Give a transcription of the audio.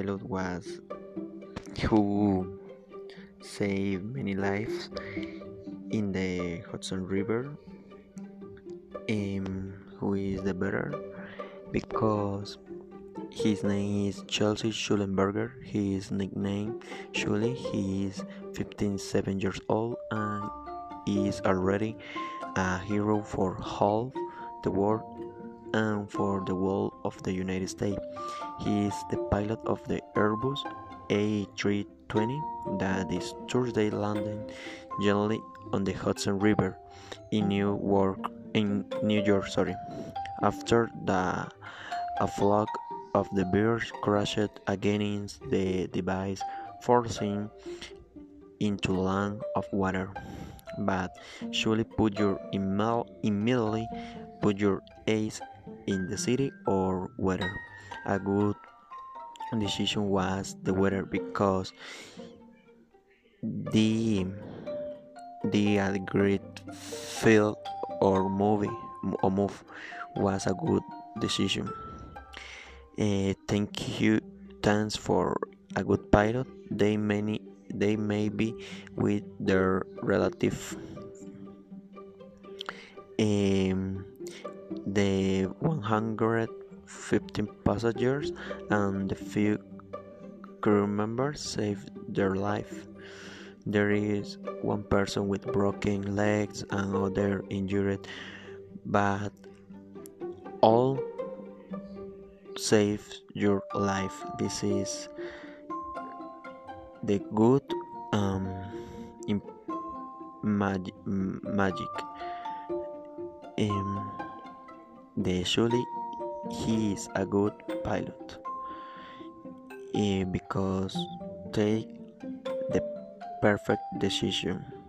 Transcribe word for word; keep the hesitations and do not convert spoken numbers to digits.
pilot was who saved many lives in the Hudson River. Um, who is the better? Because his name is Chelsea Schulenberger. His nickname Shuli. He is fifty-seven years old and is already a hero for half the world and for the whole of the United States. He is the pilot of the Airbus A three twenty that is Thursday landing gently on the Hudson River in New York. In New York, sorry. After the a flock of the birds crashed against the device, forcing into land of water. But surely put your email immediately put your eyes in the city or weather. A good decision was the weather because the the uh, great field or movie or move was a good decision. Uh, thank you, thanks for a good pilot. They many they may be with their relative. Um, the one hundred fifteen passengers and the few crew members saved their life. There is one person with broken legs and other injured, but all save your life. This is the good um in mag- magic. Um, the surely he is a good pilot eh, because take the perfect decision.